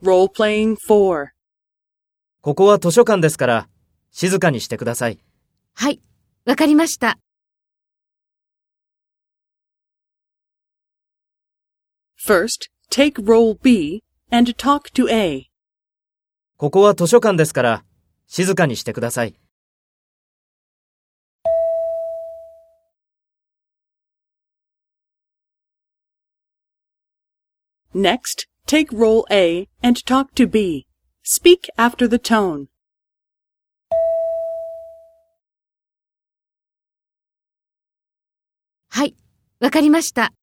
Role-playing 4. ここは図書館ですから、静かにしてください。 はい、わかりました。 First, take role B and talk to A. ここは図書館ですから、静かにしてください。 Next, take role A and talk to B. Speak after the tone. はい、わかりました。